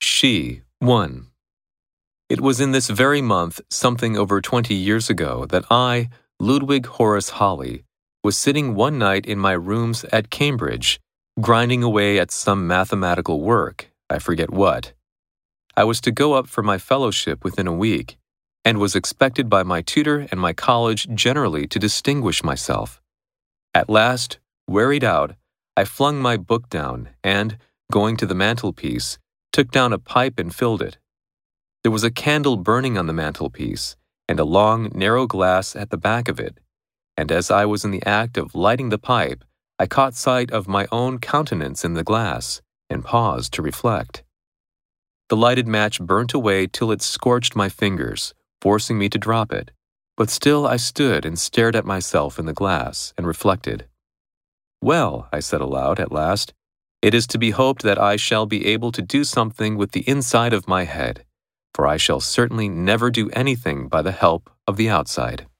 She, 1. It was in this very month, something over 20 years ago, that I, Ludwig Horace Holly, was sitting one night in my rooms at Cambridge, grinding away at some mathematical work, I forget what. I was to go up for my fellowship within a week, and was expected by my tutor and my college generally to distinguish myself. At last, wearied out, I flung my book down and, going to the mantelpiece, took down a pipe and filled it. There was a candle burning on the mantelpiece, and a long, narrow glass at the back of it, and as I was in the act of lighting the pipe, I caught sight of my own countenance in the glass, and paused to reflect. The lighted match burnt away till it scorched my fingers, forcing me to drop it, but still I stood and stared at myself in the glass, and reflected. Well, I said aloud at last, it is to be hoped that I shall be able to do something with the inside of my head, for I shall certainly never do anything by the help of the outside.